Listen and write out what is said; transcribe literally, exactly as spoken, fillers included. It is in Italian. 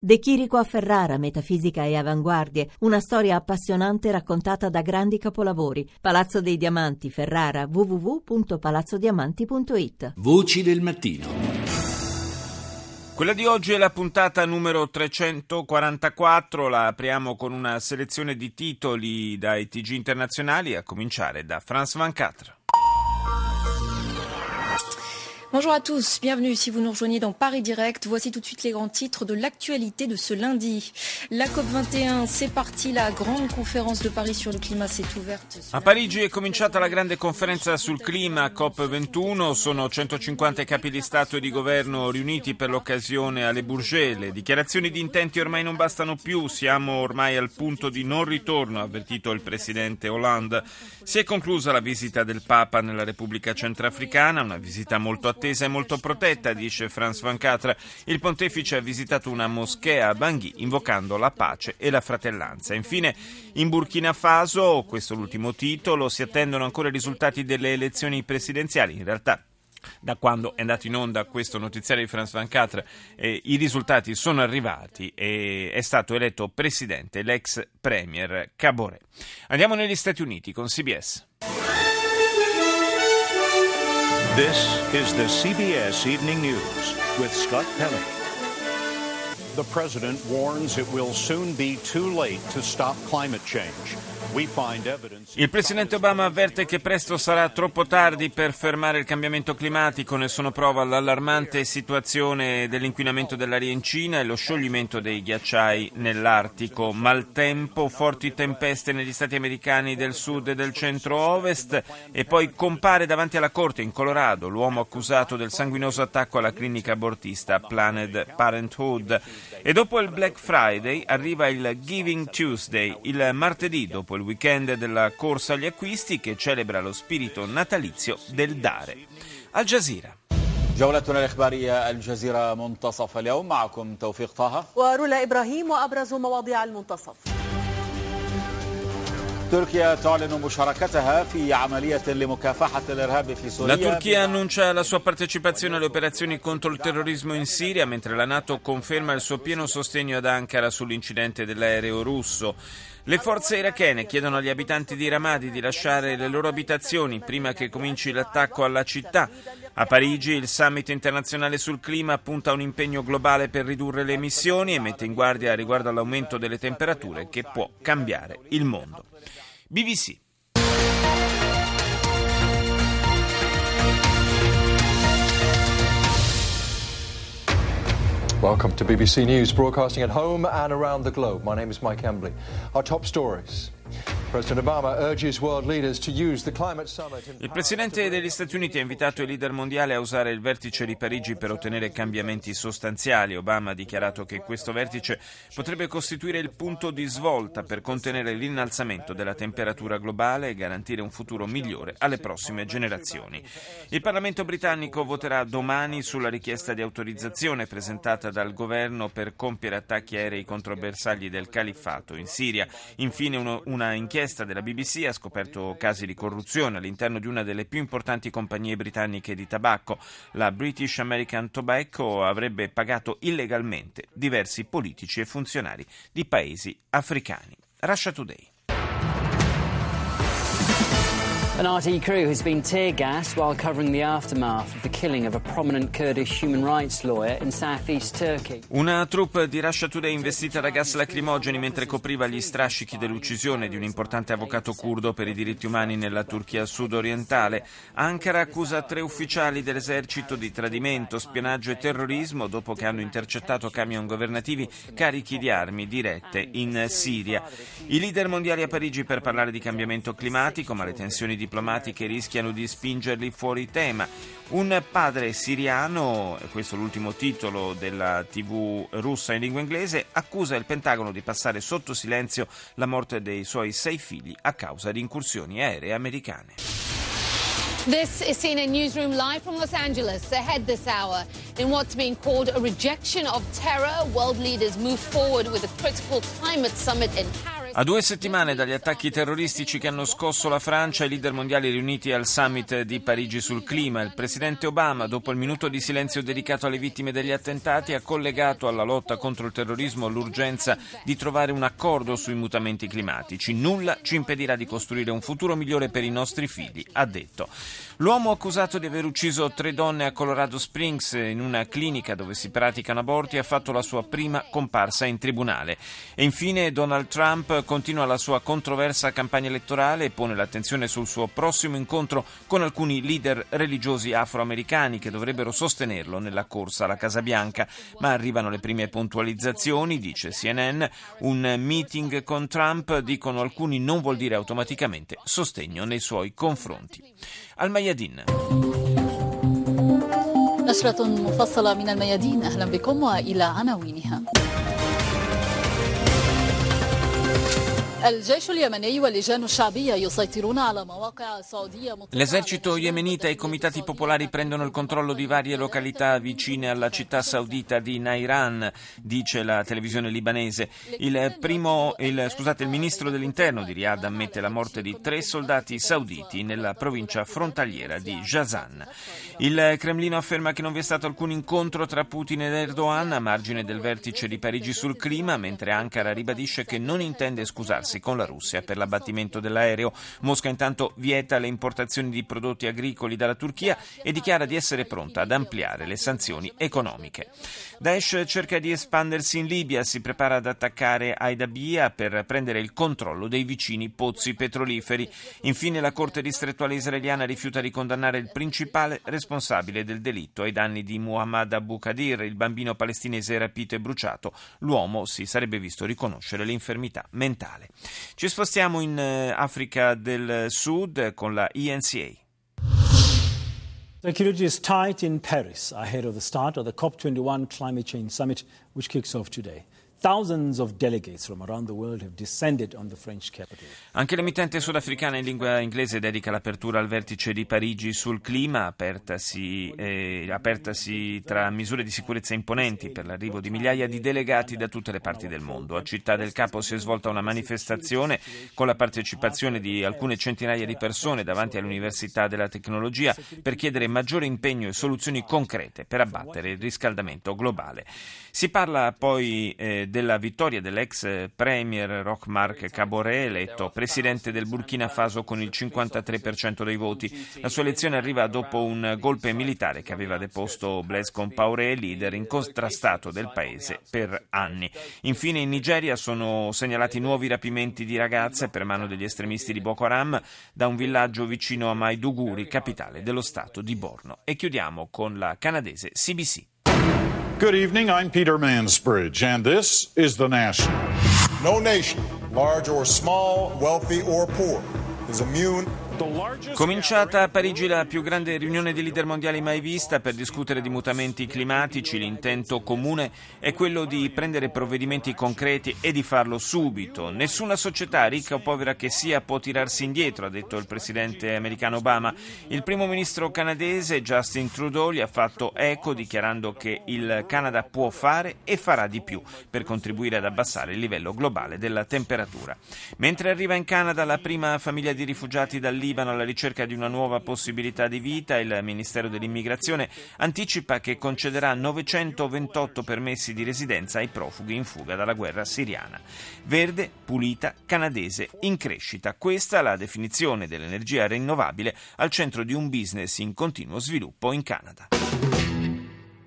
De Chirico a Ferrara, metafisica e avanguardie, una storia appassionante raccontata da grandi capolavori. Palazzo dei Diamanti, Ferrara, w w w punto palazzo diamanti punto it. Voci del mattino. Quella di oggi è la puntata numero trecentoquarantaquattro, la apriamo con una selezione di titoli dai T G internazionali, a cominciare da France ventiquattro. Bonjour à tous, bienvenue si vous nous rejoignez dans Paris Direct. Voici tout de suite les grands titres de l'actualité de ce lundi. La COP vingt et un, c'est parti, la grande conférence de Paris sur le climat s'est ouverte. A Parigi è cominciata la grande conferenza sul clima COP ventuno, sono centocinquanta capi di Stato e di Governo riuniti per l'occasione a Le Bourget. Le dichiarazioni di intenti ormai non bastano più, siamo ormai al punto di non ritorno, ha avvertito il presidente Hollande. Si è conclusa la visita del Papa nella Repubblica Centrafricana, una visita molto attesa attesa e molto protetta, dice France ventiquattro. Il pontefice ha visitato una moschea a Bangui invocando la pace e la fratellanza. Infine, in Burkina Faso, questo è l'ultimo titolo, si attendono ancora i risultati delle elezioni presidenziali. In realtà, da quando è andato in onda questo notiziario di France ventiquattro, eh, i risultati sono arrivati e è stato eletto presidente l'ex premier Kabore. Andiamo negli Stati Uniti con C B S. This is the C B S Evening News with Scott Pelley. The president warns it will soon be too late to stop climate change. We find evidence. Il presidente Obama avverte che presto sarà troppo tardi per fermare il cambiamento climatico. Ne sono prova l'allarmante situazione dell'inquinamento dell'aria in Cina e lo scioglimento dei ghiacciai nell'Artico. Maltempo, forti tempeste negli stati americani del sud e del centro-ovest e poi compare davanti alla corte in Colorado l'uomo accusato del sanguinoso attacco alla clinica abortista Planned Parenthood. E dopo il Black Friday arriva il Giving Tuesday, il martedì dopo il weekend della corsa agli acquisti che celebra lo spirito natalizio del dare. Al Jazeera. جولتنا الإخبارية الجزيرة منتصف اليوم معكم توفيق طه ورولا إبراهيم وأبرز مواضيع المنتصف. تركيا تعلن مشاركتها في عملية لمكافحة الإرهاب في سوريا. La Turchia annuncia la sua partecipazione alle operazioni contro il terrorismo in Siria, mentre la NATO conferma il suo pieno sostegno ad Ankara sull'incidente dell'aereo russo. Le forze irachene chiedono agli abitanti di Ramadi di lasciare le loro abitazioni prima che cominci l'attacco alla città. A Parigi il summit internazionale sul clima punta a un impegno globale per ridurre le emissioni e mette in guardia riguardo all'aumento delle temperature che può cambiare il mondo. B B C. Welcome to B B C News, broadcasting at home and around the globe. My name is Mike Embley. Our top stories. President Obama urges world leaders to use the climate summit in Il presidente degli Stati Uniti ha invitato i leader mondiali a usare il vertice di Parigi per ottenere cambiamenti sostanziali. Obama ha dichiarato che questo vertice potrebbe costituire il punto di svolta per contenere l'innalzamento della temperatura globale e garantire un futuro migliore alle prossime generazioni. Il Parlamento britannico voterà domani sulla richiesta di autorizzazione presentata dal governo per compiere attacchi aerei contro bersagli del califfato in Siria. Infine uno, una inchiesta della B B C ha scoperto casi di corruzione all'interno di una delle più importanti compagnie britanniche di tabacco. La British American Tobacco avrebbe pagato illegalmente diversi politici e funzionari di paesi africani. Russia Today. An R T E crew has been tear-gassed while covering the aftermath of the killing of a prominent Kurdish human rights lawyer in southeast Turkey. Una troupe di Russia Today investita da gas lacrimogeni mentre copriva gli strascichi dell'uccisione di un importante avvocato curdo per i diritti umani nella Turchia sud-orientale. Ankara accusa tre ufficiali dell'esercito di tradimento, spionaggio e terrorismo dopo che hanno intercettato camion governativi carichi di armi dirette in Siria. I leader mondiali a Parigi per parlare di cambiamento climatico, ma le tensioni diplomatiche rischiano di spingerli fuori tema. Un padre siriano, questo è l'ultimo titolo della tivù russa in lingua inglese, accusa il Pentagono di passare sotto silenzio la morte dei suoi sei figli a causa di incursioni aeree americane. This is C N N Newsroom live from Los Angeles. Ahead this hour, in what's being called a rejection of terror, world leaders move forward with a critical climate summit in Paris. A due settimane dagli attacchi terroristici che hanno scosso la Francia, i leader mondiali riuniti al summit di Parigi sul clima, il presidente Obama, dopo il minuto di silenzio dedicato alle vittime degli attentati, ha collegato alla lotta contro il terrorismo l'urgenza di trovare un accordo sui mutamenti climatici. Nulla ci impedirà di costruire un futuro migliore per i nostri figli, ha detto. L'uomo accusato di aver ucciso tre donne a Colorado Springs in una clinica dove si praticano aborti ha fatto la sua prima comparsa in tribunale. E infine Donald Trump continua la sua controversa campagna elettorale e pone l'attenzione sul suo prossimo incontro con alcuni leader religiosi afroamericani che dovrebbero sostenerlo nella corsa alla Casa Bianca. Ma arrivano le prime puntualizzazioni, dice C N N. Un meeting con Trump, dicono alcuni, non vuol dire automaticamente sostegno nei suoi confronti. Al-Mayadin. نشرة مفصلة من الميادين. أهلا بكم وإلى عناوينها. L'esercito yemenita e i comitati popolari prendono il controllo di varie località vicine alla città saudita di Nairan, dice la televisione libanese. Il, primo, il, scusate, il ministro dell'interno di Riyadh ammette la morte di tre soldati sauditi nella provincia frontaliera di Jazan. Il Cremlino afferma che non vi è stato alcun incontro tra Putin ed Erdogan a margine del vertice di Parigi sul clima, mentre Ankara ribadisce che non intende scusarsi con la Russia per l'abbattimento dell'aereo. Mosca intanto vieta le importazioni di prodotti agricoli dalla Turchia e dichiara di essere pronta ad ampliare le sanzioni economiche. Daesh cerca di espandersi in Libia, si prepara ad attaccare Aidabia per prendere il controllo dei vicini pozzi petroliferi. Infine la Corte distrettuale israeliana rifiuta di condannare il principale responsabile del delitto ai danni di Muhammad Abu Qadir, il bambino palestinese rapito e bruciato. L'uomo si sarebbe visto riconoscere l'infermità mentale. Ci spostiamo in Africa del Sud con la E N C A. Security is tight in Paris ahead of the start of the COP twenty-one Climate Change Summit, which kicks off today. Thousands of delegates from around the world have descended on the French capital. Anche l'emittente sudafricana in lingua inglese dedica l'apertura al vertice di Parigi sul clima, apertasi, eh, apertasi tra misure di sicurezza imponenti per l'arrivo di migliaia di delegati da tutte le parti del mondo. A Città del Capo si è svolta una manifestazione con la partecipazione di alcune centinaia di persone davanti all'Università della Tecnologia per chiedere maggiore impegno e soluzioni concrete per abbattere il riscaldamento globale. Si parla poi eh, della vittoria dell'ex premier Roch Marc Kaboré, eletto presidente del Burkina Faso con il cinquantatré per cento dei voti. La sua elezione arriva dopo un golpe militare che aveva deposto Blaise Compaoré, leader incontrastato del paese per anni. Infine in Nigeria sono segnalati nuovi rapimenti di ragazze per mano degli estremisti di Boko Haram da un villaggio vicino a Maiduguri, capitale dello stato di Borno. E chiudiamo con la canadese C B C. Good evening, I'm Peter Mansbridge, and this is The National. No nation, large or small, wealthy or poor, is immune. Cominciata a Parigi la più grande riunione di leader mondiali mai vista per discutere di mutamenti climatici, l'intento comune è quello di prendere provvedimenti concreti e di farlo subito. Nessuna società, ricca o povera che sia, può tirarsi indietro, ha detto il presidente americano Obama. Il primo ministro canadese Justin Trudeau gli ha fatto eco dichiarando che il Canada può fare e farà di più per contribuire ad abbassare il livello globale della temperatura. Mentre arriva in Canada la prima famiglia di rifugiati dal Libano alla ricerca di una nuova possibilità di vita, il Ministero dell'Immigrazione anticipa che concederà novecentoventotto permessi di residenza ai profughi in fuga dalla guerra siriana. Verde, pulita, canadese, in crescita. Questa è la definizione dell'energia rinnovabile al centro di un business in continuo sviluppo in Canada.